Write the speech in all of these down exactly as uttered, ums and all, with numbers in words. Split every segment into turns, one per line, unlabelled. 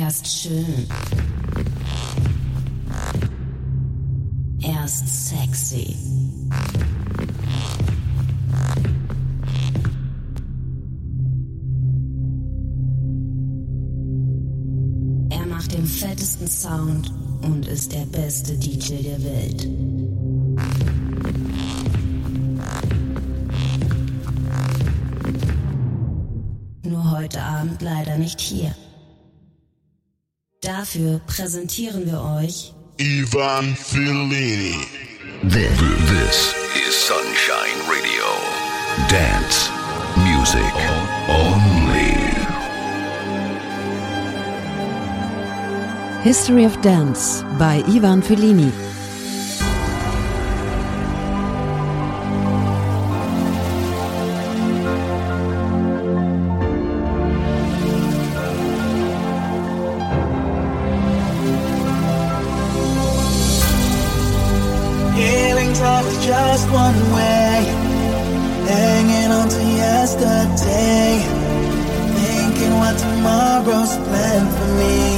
Er ist schön. Er ist sexy. Er macht den fettesten Sound und ist der beste D J der Welt. Nur heute Abend leider nicht hier. Dafür präsentieren wir euch
Ivan Fellini.
This, this is Sunshine Radio. Dance music only.
History of Dance by Ivan Fellini.
Just one way, hanging on to yesterday, thinking what tomorrow's planned for me.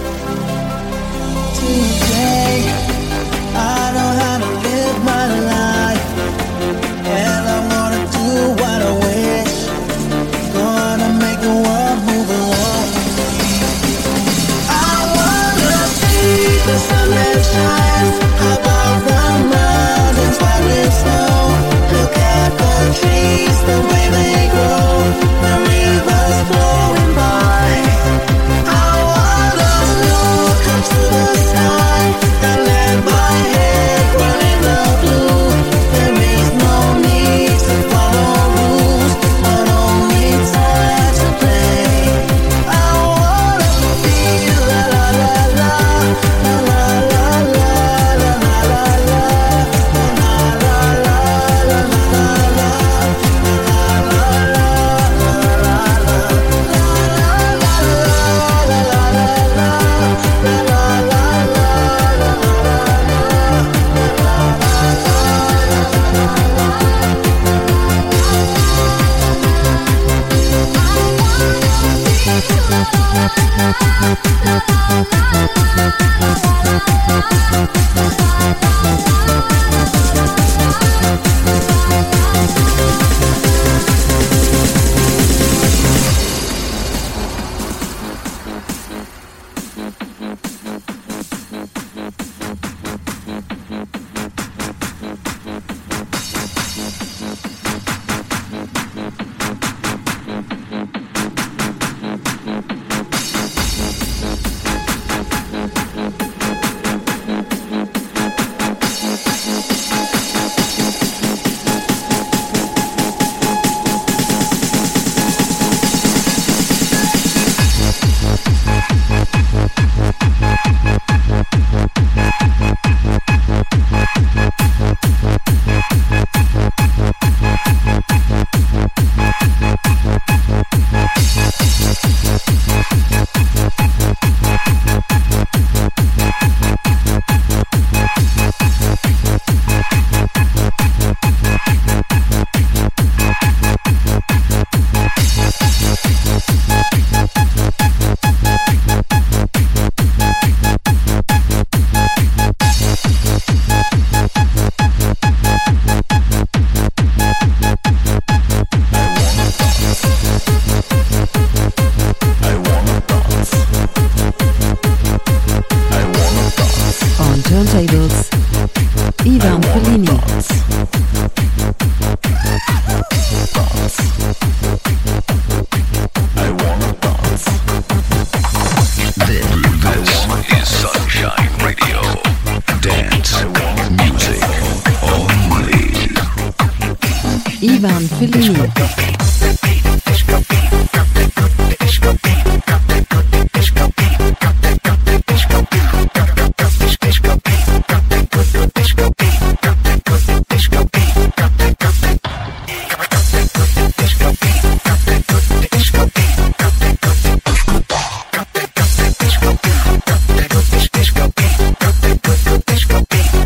Today, I know how to live my life, and I'm gonna do what I wish, gonna make the world move along with me. I wanna see the sun that shines above the mountains where it's snow. Look at the trees, the way they grow, the rivers flowing by. I wanna look up to the sky and let my head run in the blue. There is no need to follow rules, but only time to play. I wanna feel la la la la, la la la la, la la la la, la la la la, la la la.
Turntables, Ivan Fellini.
This is Sunshine Radio. Dance music only.
Ivan Fellini.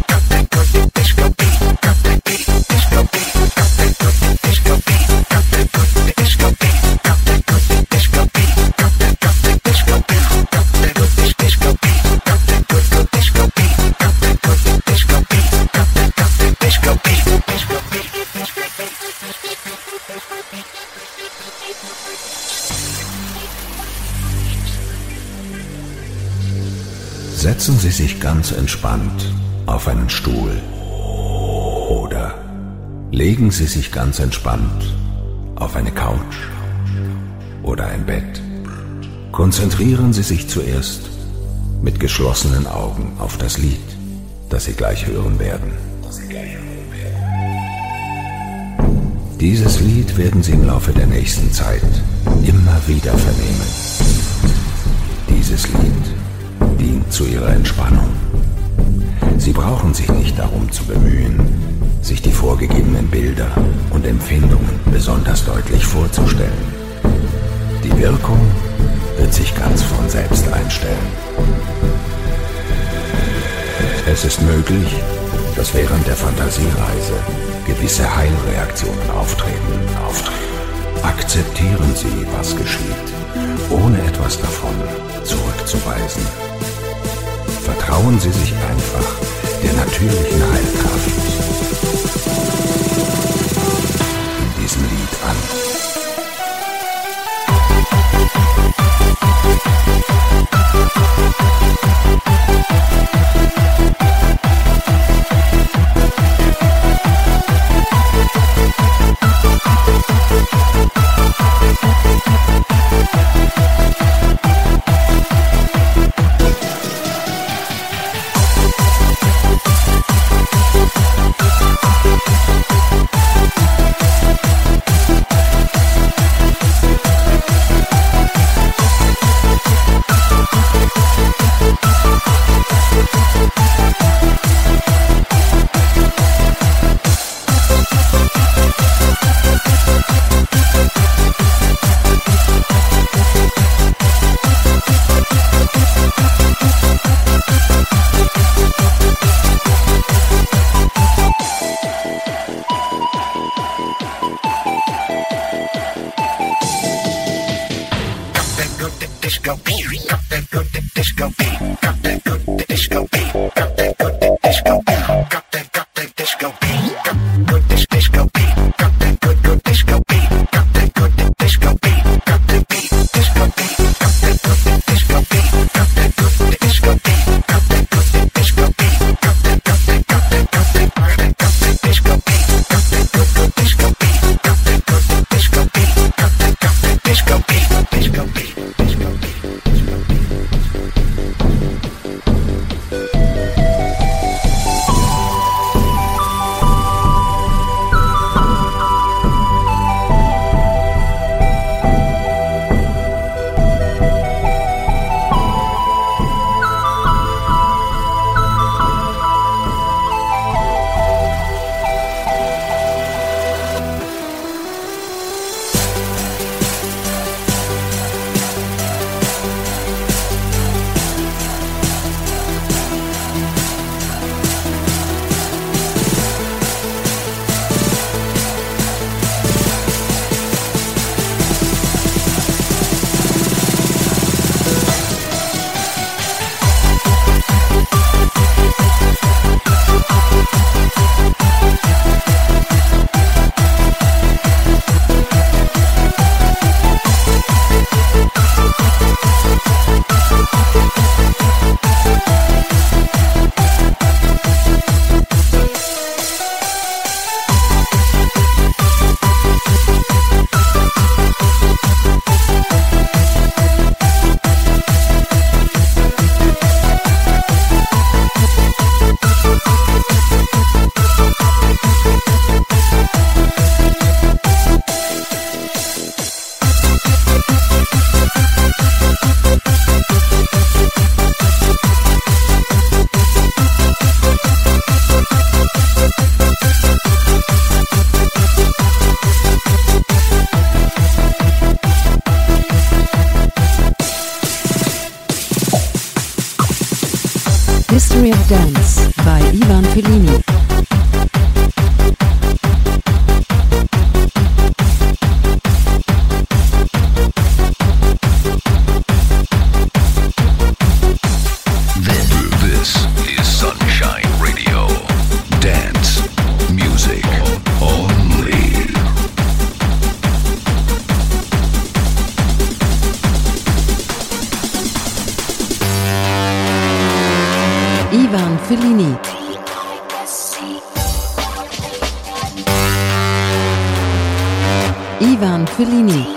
Disco
Setzen Sie sich ganz entspannt auf einen Stuhl oder legen Sie sich ganz entspannt auf eine Couch oder ein Bett. Konzentrieren Sie sich zuerst mit geschlossenen Augen auf das Lied, das Sie gleich hören werden. Dieses Lied werden Sie im Laufe der nächsten Zeit immer wieder vernehmen. Dieses Lied dient zu Ihrer Entspannung. Sie brauchen sich nicht darum zu bemühen, sich die vorgegebenen Bilder und Empfindungen besonders deutlich vorzustellen. Die Wirkung wird sich ganz von selbst einstellen. Es ist möglich, dass während der Fantasiereise gewisse Heilreaktionen auftreten. auftreten. Akzeptieren Sie, was geschieht, ohne etwas davon zurückzuweisen. Vertrauen Sie sich einfach der natürlichen Heilkraft in diesem Lied an.
History of Dance by Ivan Fellini.
This is Sunshine Radio. Dance music only.
Ivan Fellini.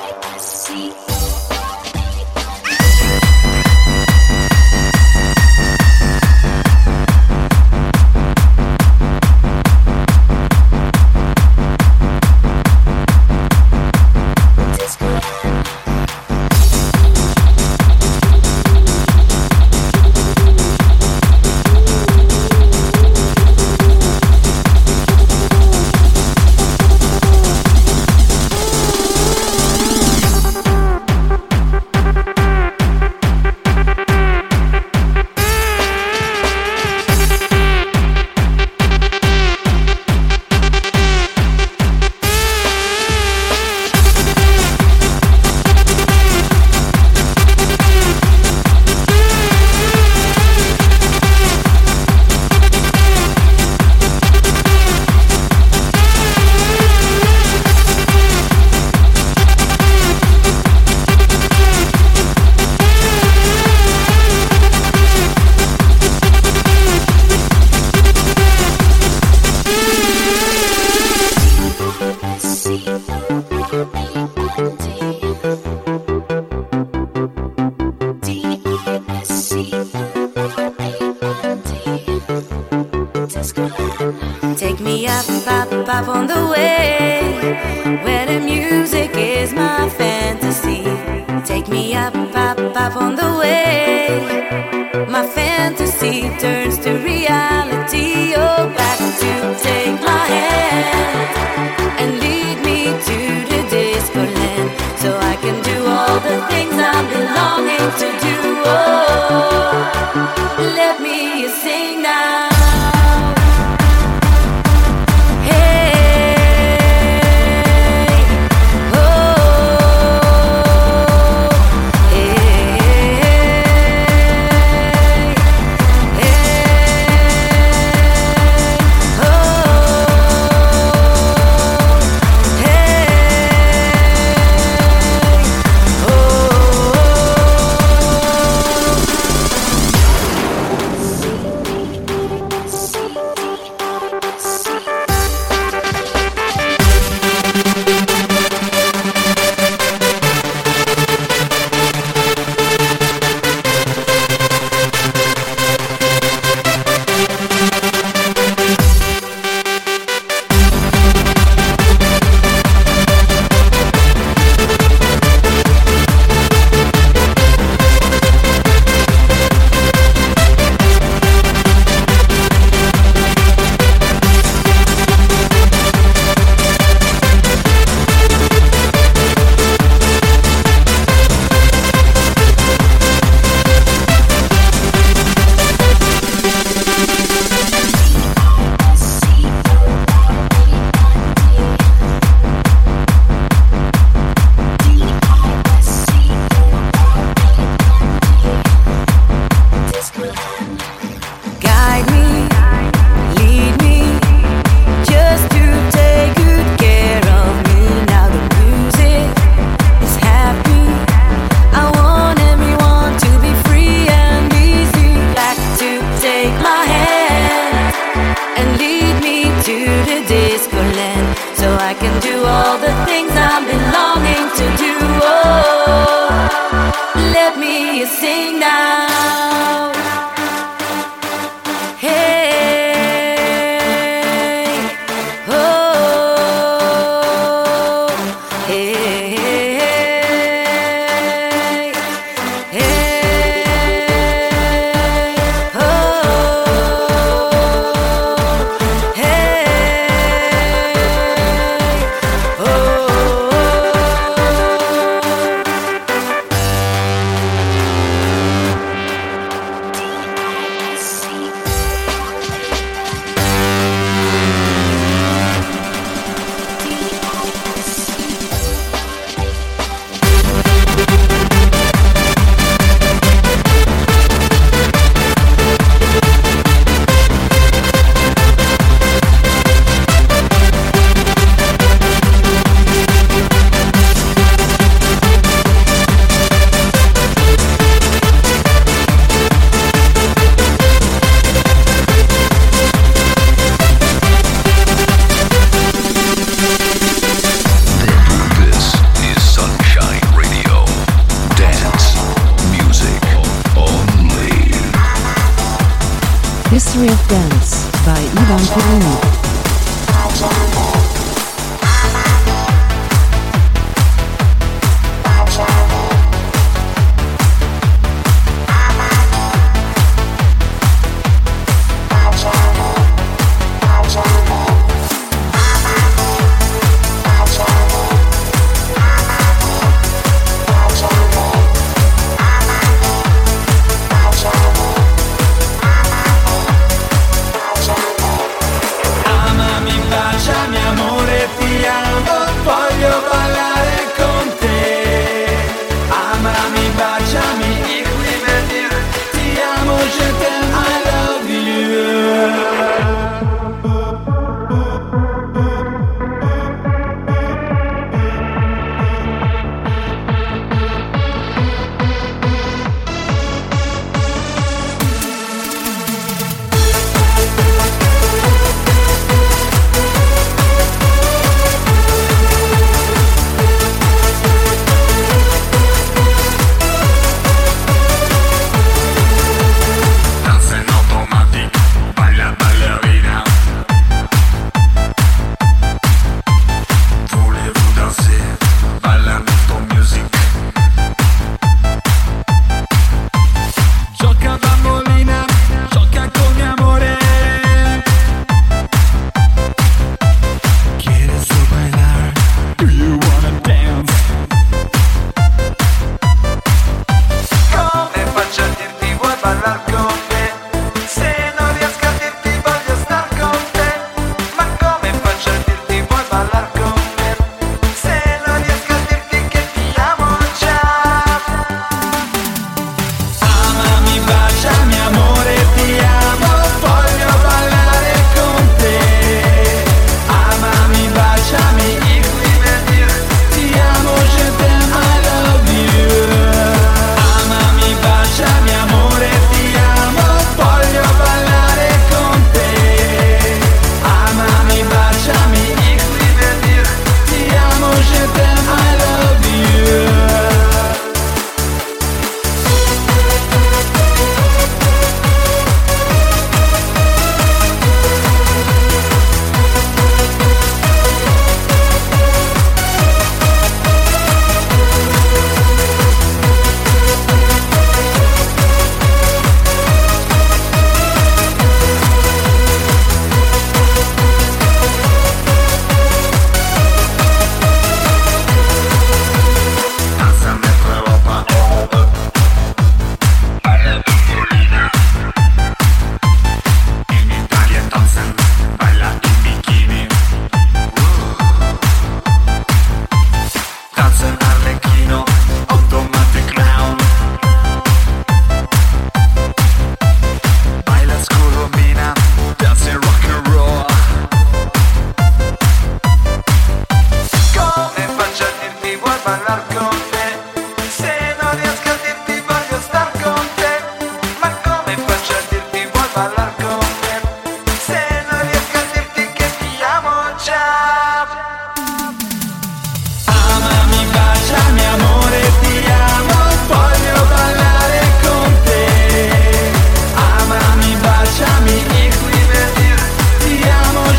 Take me up, up, up on the way, where the music is my fantasy. Take me up, up, up on the way, my fantasy turns to reality. Oh, back to take my hand and lead me to the disco land, so I can do all the things I'm belonging to do. Oh, let me sing now.
History of Dance by Ivan Fellini.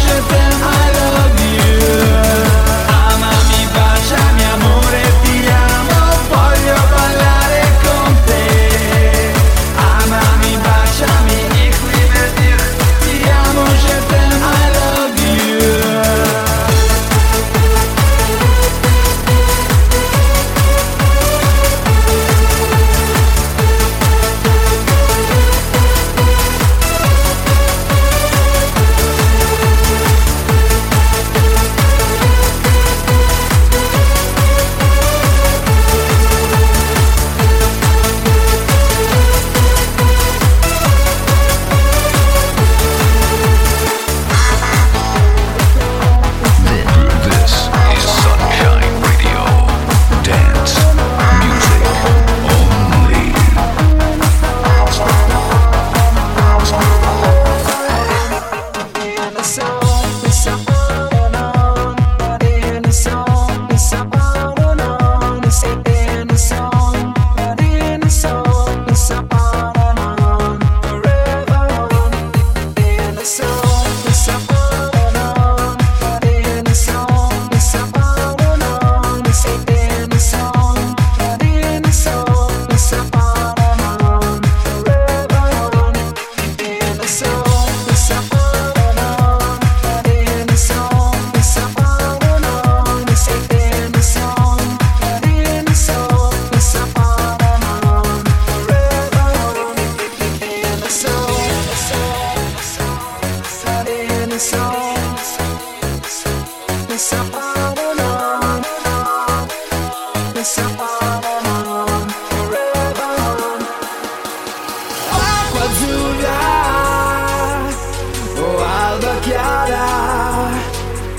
Amami, baciami, amore, ti amo.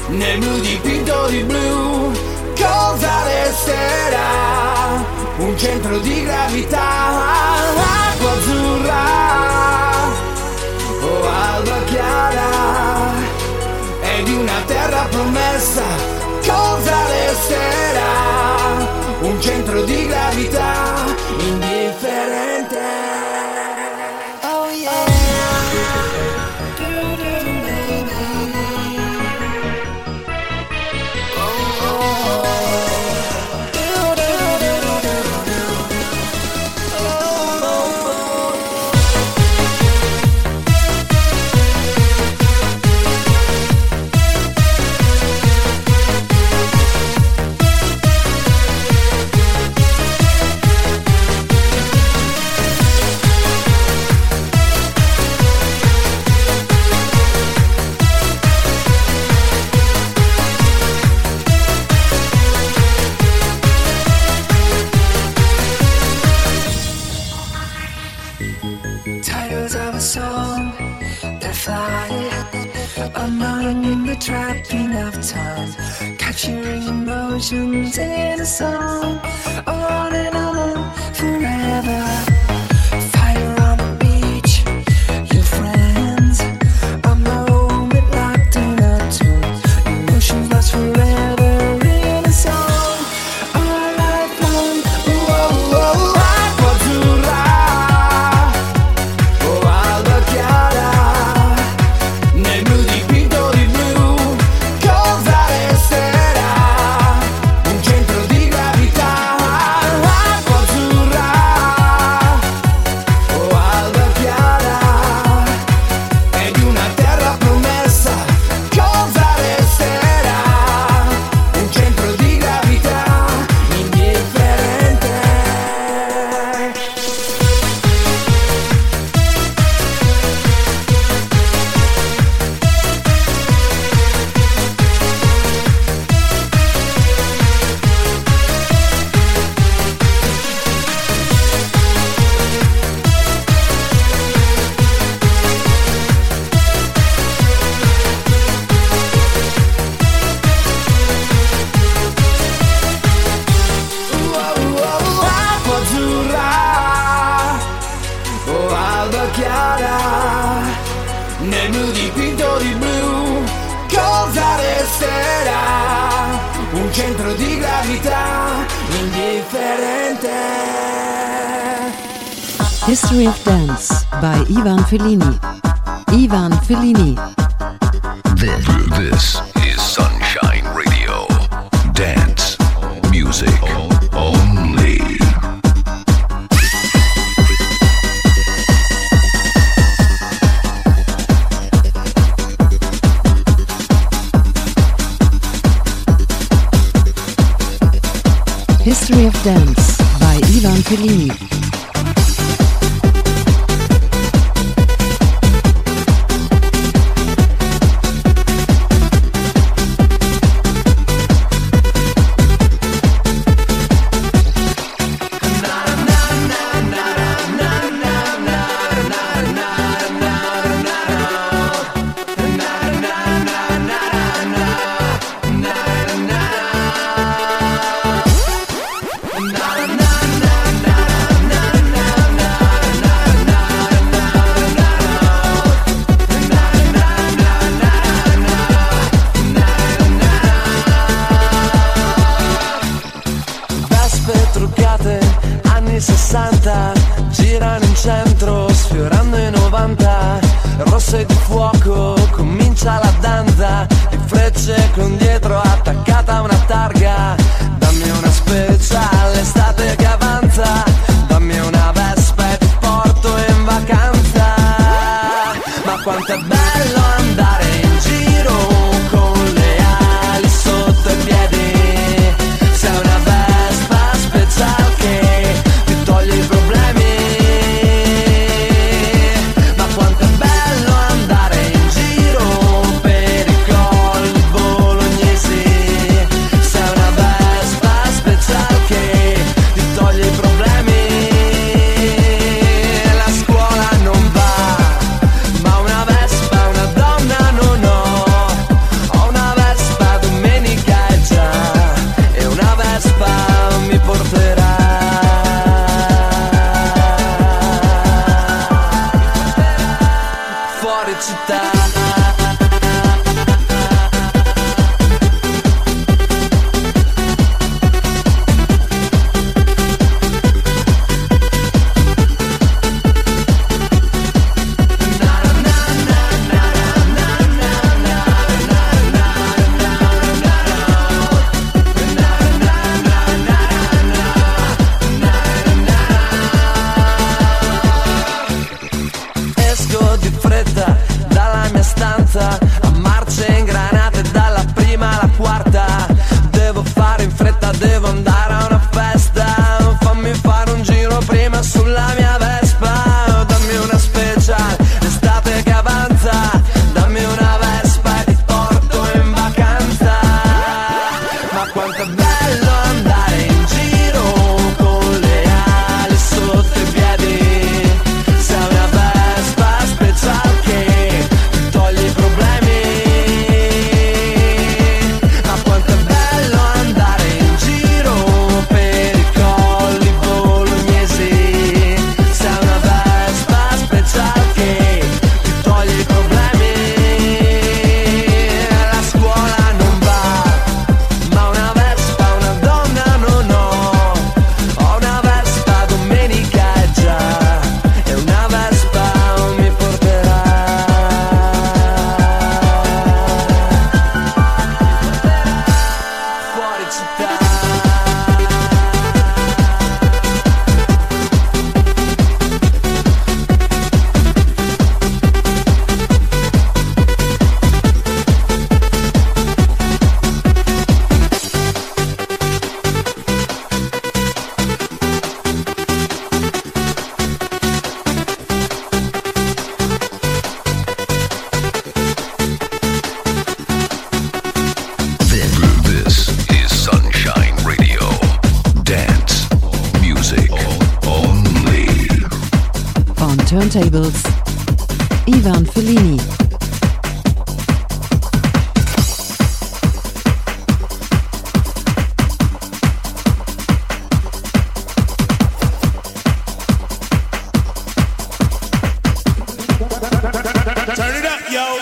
nel blu dipinto di blu. Cosa resterà? Un centro di gravità, acqua azzurra o alba chiara, è di una terra promessa. Cosa resterà? Un centro di gravità indifferente. Oh yeah.
Trapping of time, capturing emotions in a song, on and on forever. Fire on the beach, your friends, a moment locked in a tune. Emotions last forever in a song, all night long. Whoa, whoa,
Acqua azzurra o alba chiara, nel blu dipinto di blu. Cosa resterà? Un centro di gravità, acqua azzurra o alba chiara, è di una terra promessa. Cosa resterà? Un centro di gravità indifferente. Acqua azzurra o alba chiara, nel blu dipinto di blu. Cosa resterà? Un centro di gravità indifferente.
History of Dance by Ivan Fellini. Ivan Fellini.
This, this is Sunshine Radio. Dance music only.
History of Dance by Ivan Fellini.
Vespe truccate, anni sessanta, girano in centro, sfiorando i novanta. Rosse di fuoco, comincia la danza, di frecce con dietro attaccata una targa. Dammi una speciale estate che avanza, dammi una vespa e ti porto in vacanza. Ma quanto è bello andare in giro con le ali sotto i piedi. Sei una vespa speciale che ti toglie i problemi. Ma quanto è bello andare in giro per i colli bolognesi.
turntables, Ivan Fellini.
Turn it up, yo.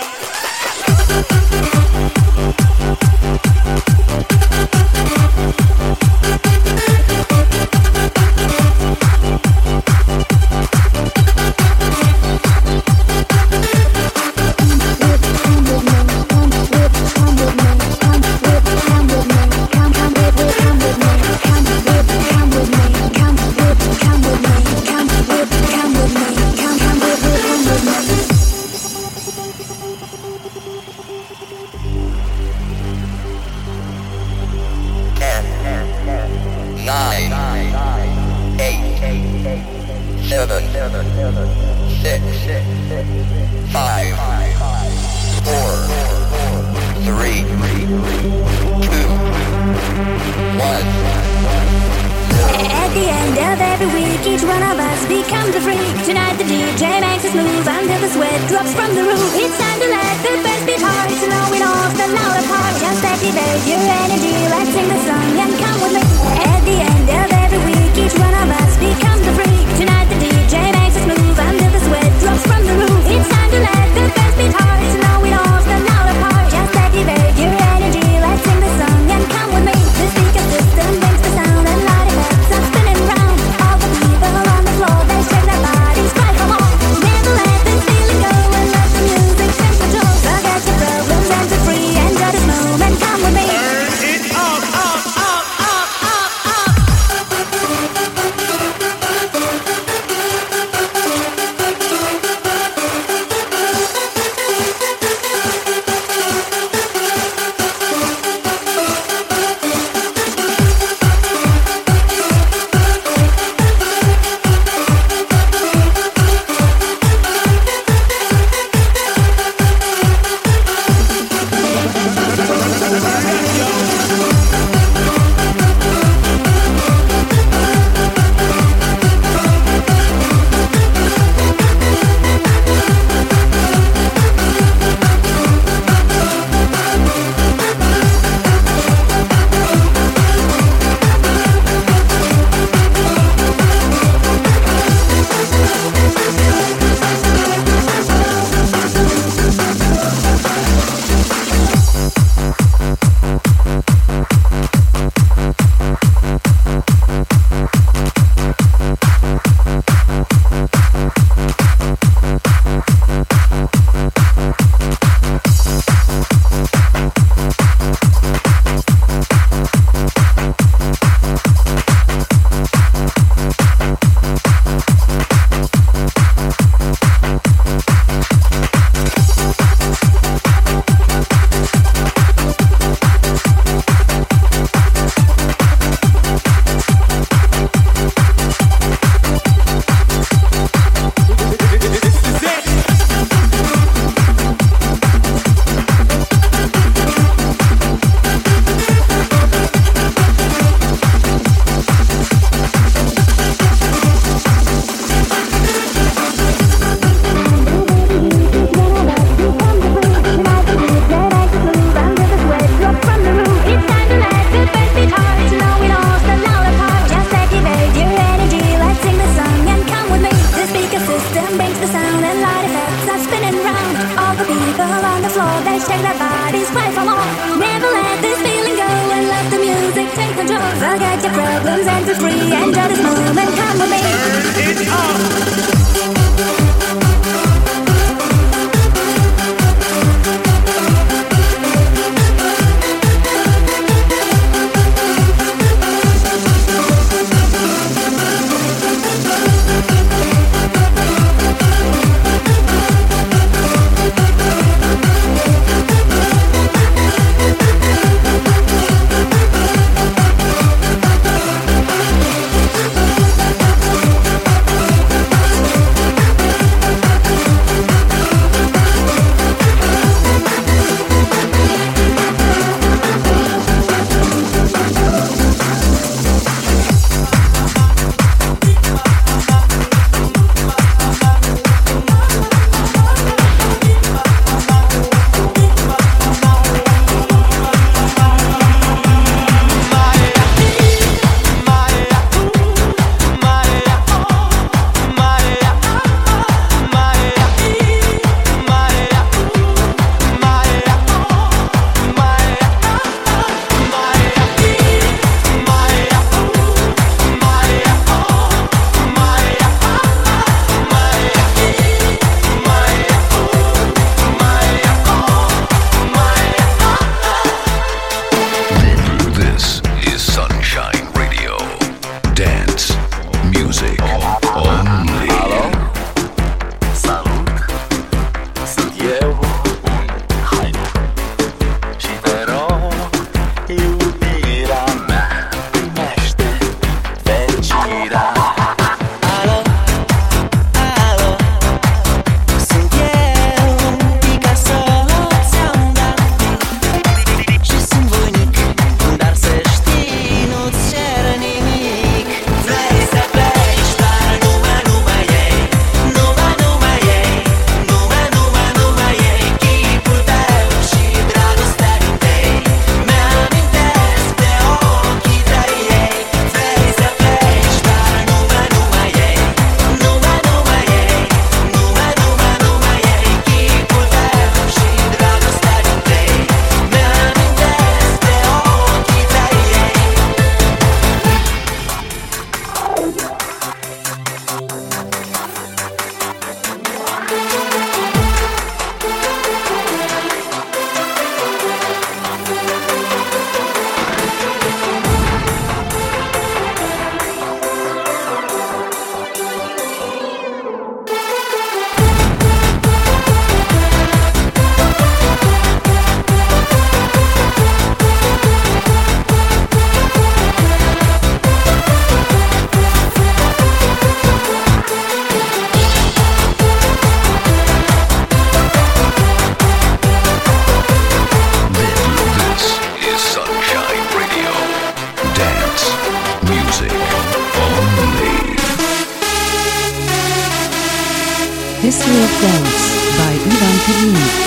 History of Dance by Ivan Fellini.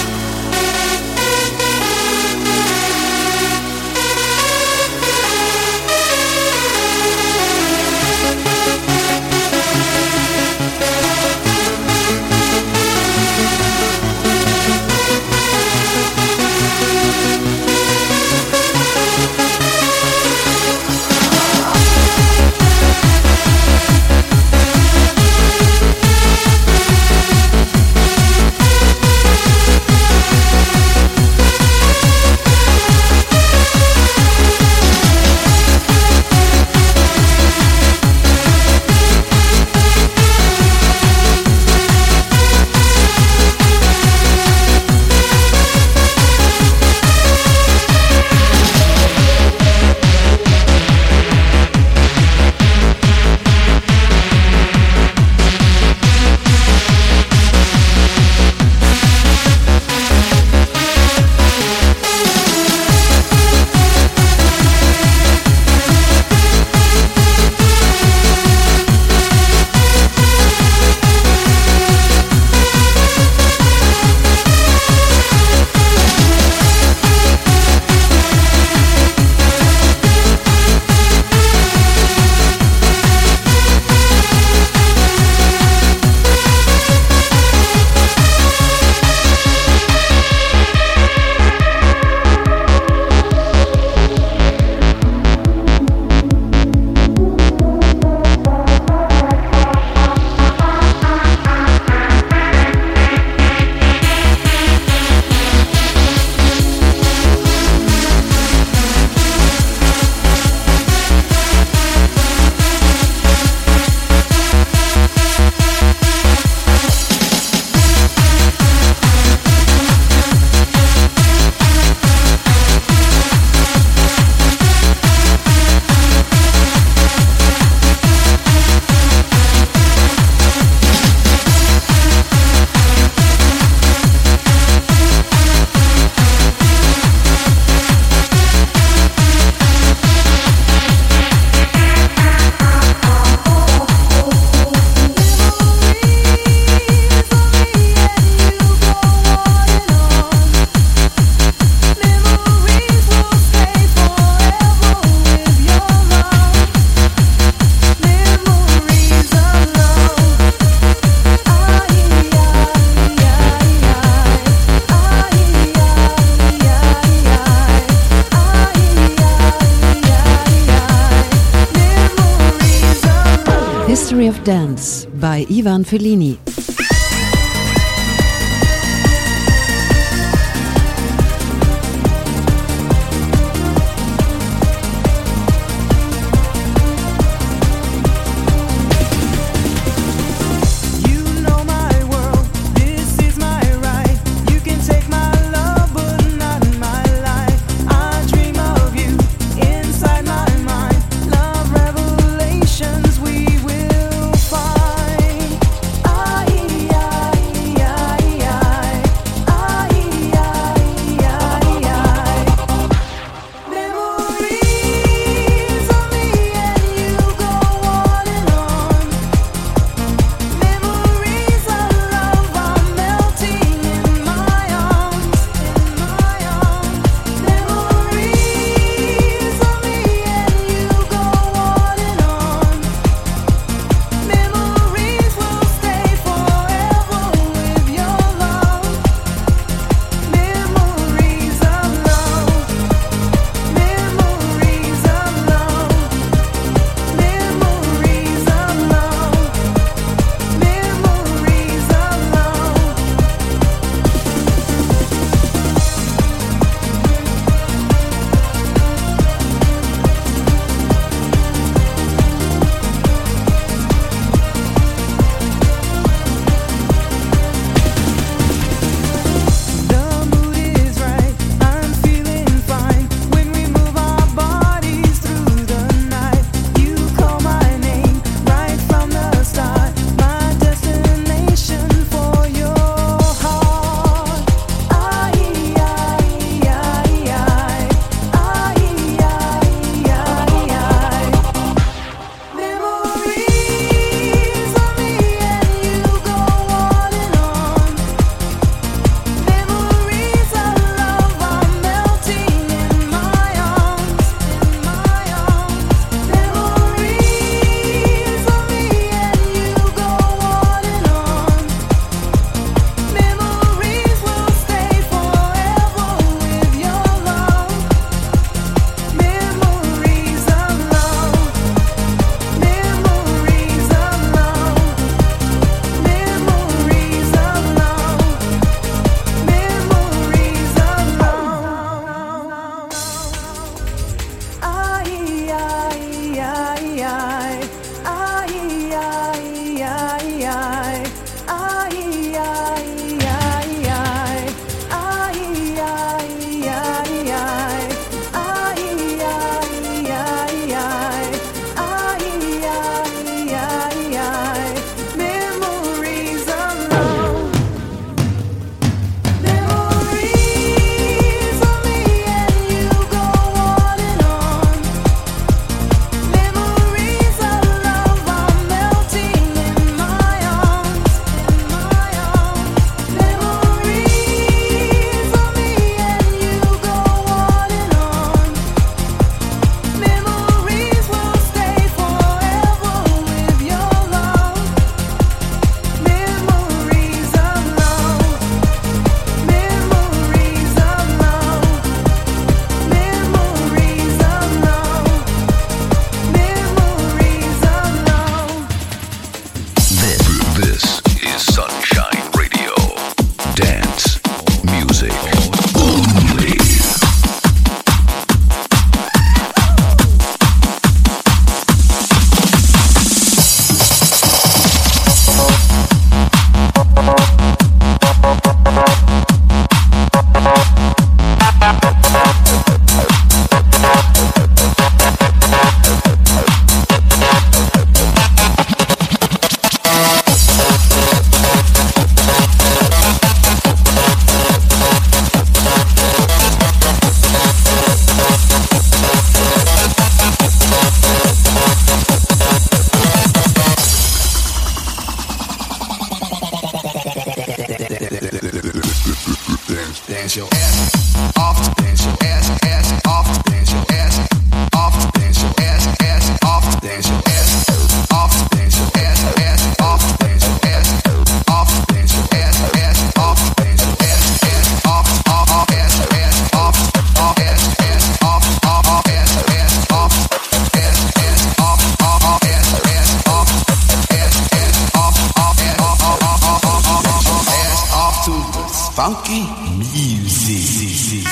History of Dance by Ivan Fellini.
I
funky music.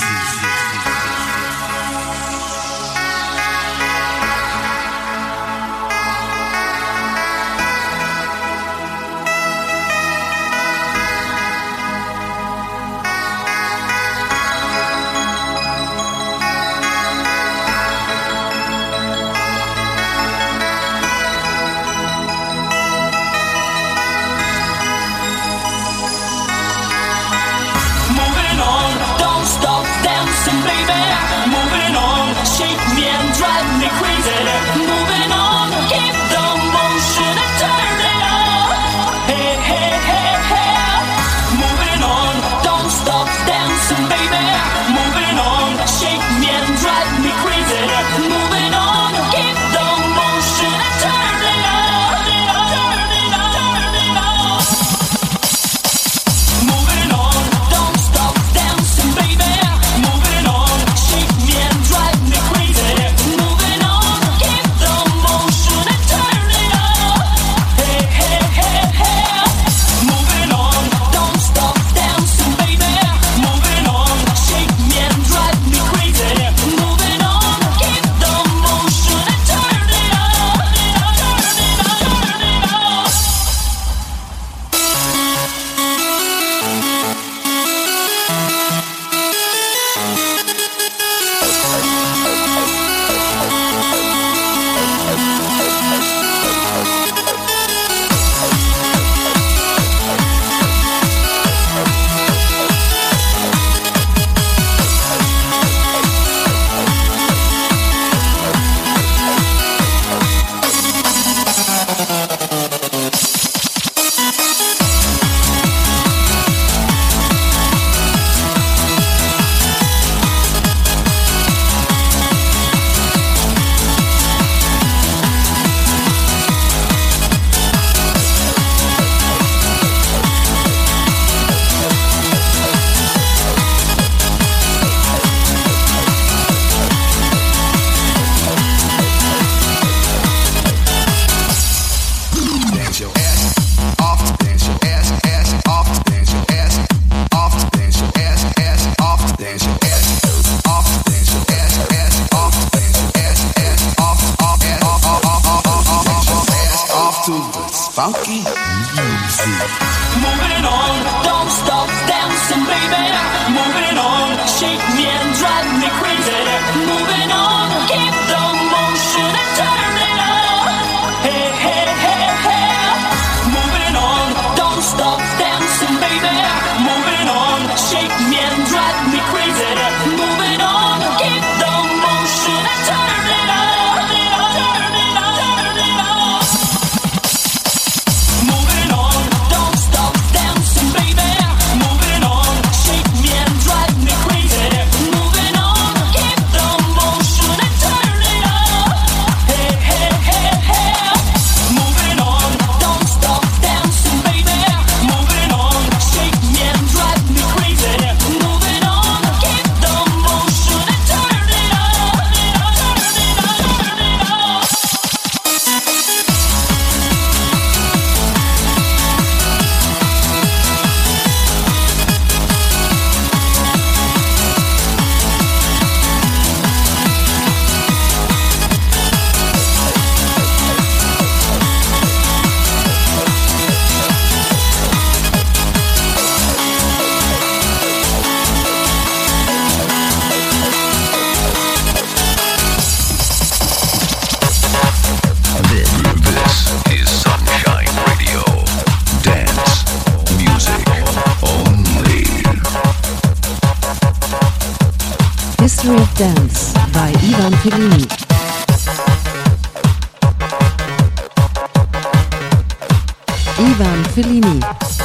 Funky music.
Moving on, don't stop dancing, baby. Moving on, shake me and drive me crazy. Moving on, keep the motion and turn it up. Hey, hey, hey, hey. Moving on, don't stop dancing, baby. Moving on, shake me and drive me crazy. Moving on, keep the motion and turn it up.
History of Dance by Ivan Fellini. Ivan Fellini.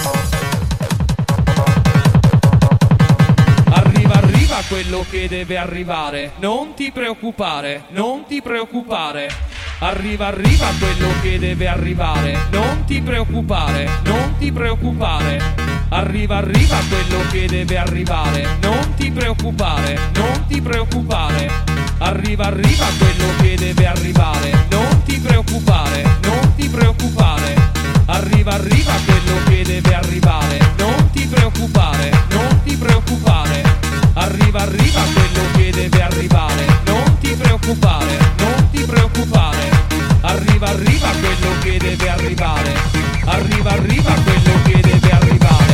Arriva, arriva quello che deve arrivare. Non ti preoccupare, non ti preoccupare. Arriva, arriva quello che deve arrivare. Non ti preoccupare, non ti preoccupare. Arriva, arriva quello che deve arrivare. Non ti preoccupare, non ti preoccupare. Arriva, arriva quello che deve arrivare. Non ti preoccupare, non ti preoccupare. Arriva, arriva quello che deve arrivare. Non ti preoccupare, preoccupare. Arriva, arriva quello che deve arrivare. Non ti preoccupare, non ti preoccupare. Arriva, arriva quello che deve arrivare. Arriva, arriva quello che deve arrivare.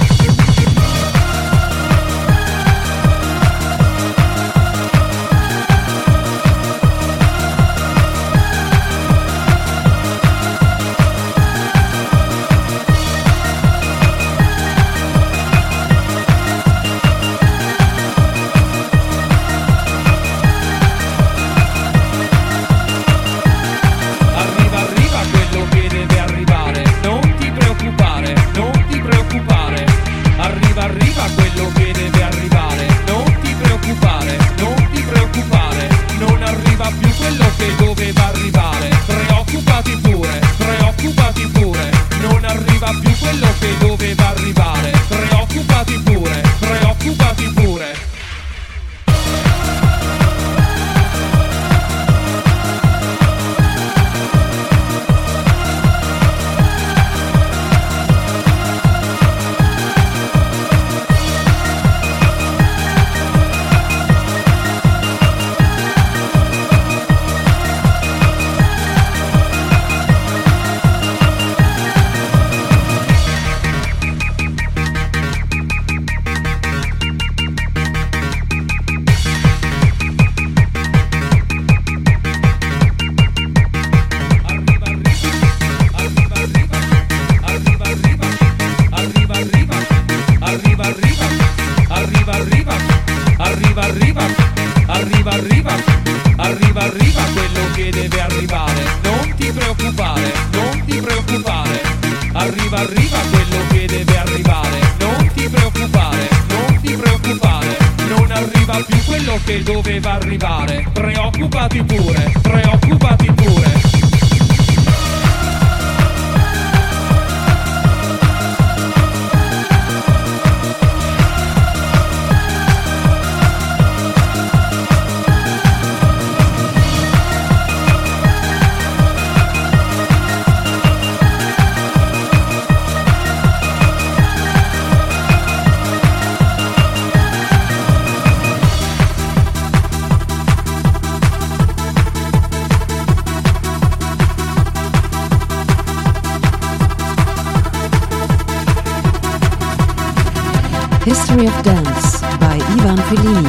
History of Dance by Ivan Fellini.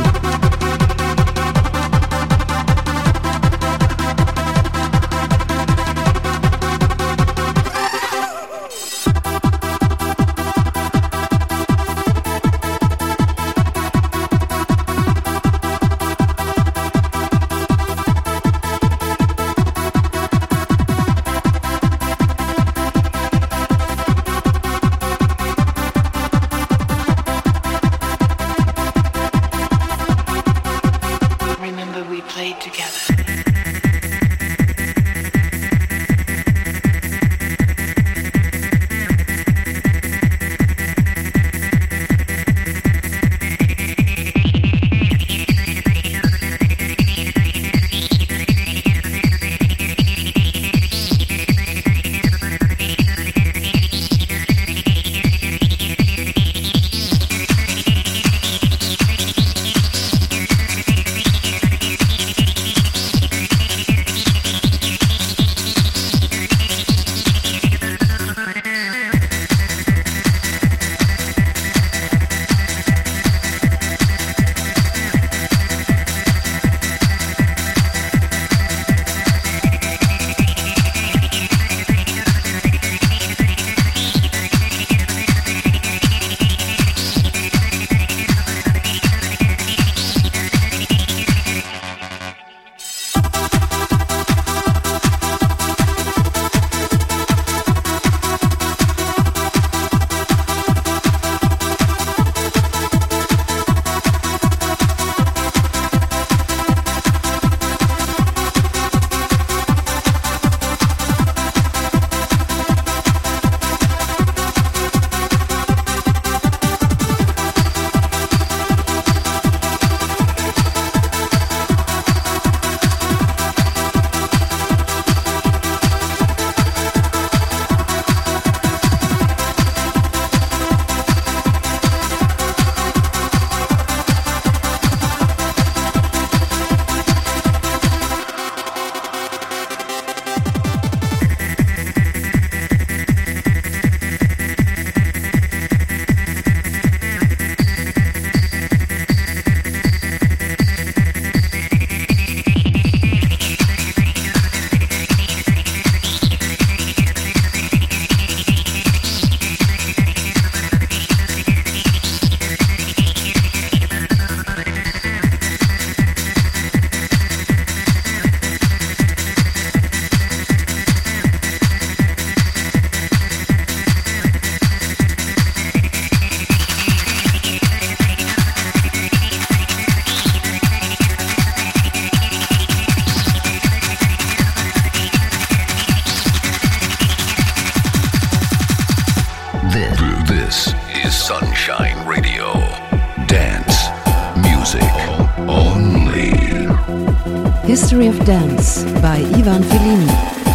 History of Dance by Ivan Fellini.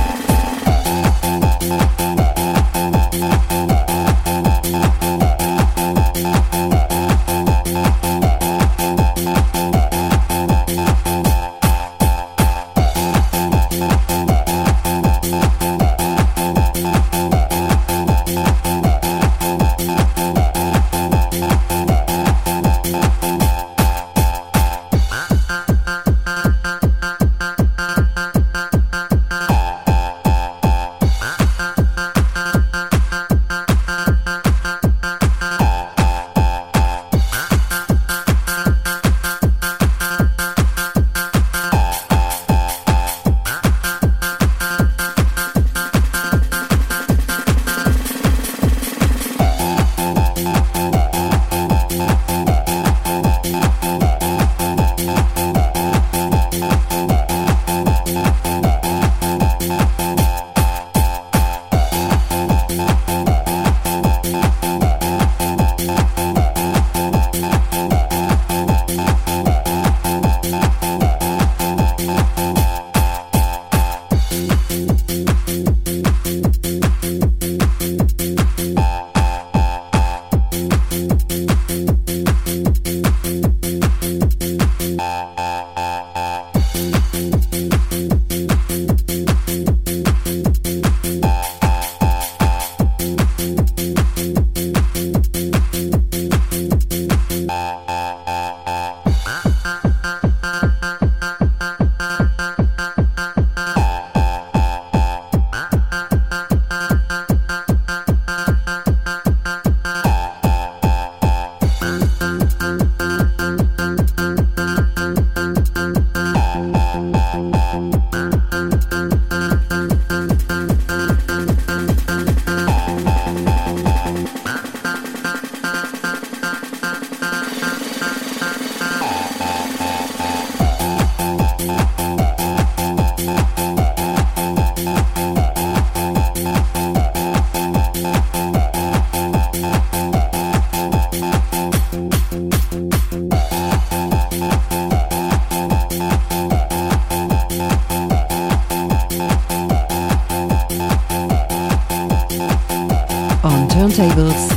Turntables,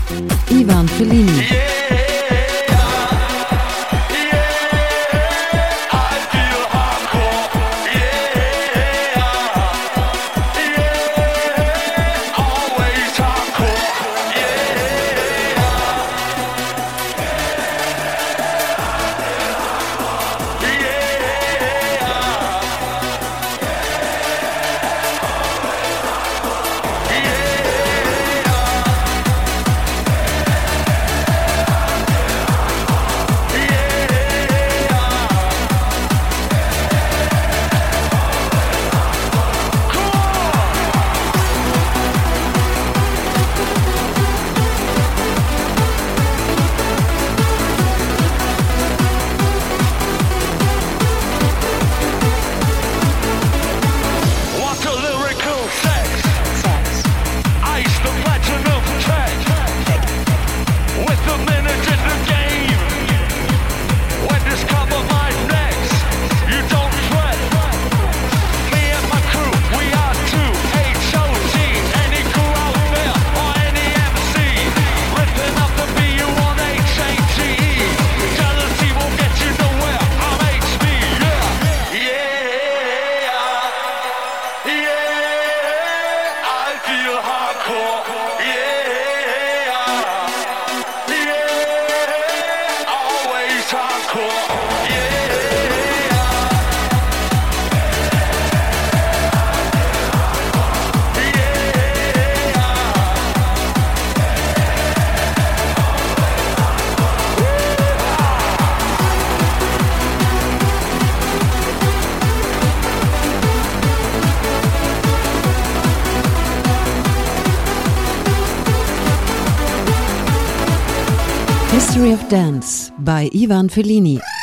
Ivan Fellini. History of Dance by Ivan Fellini.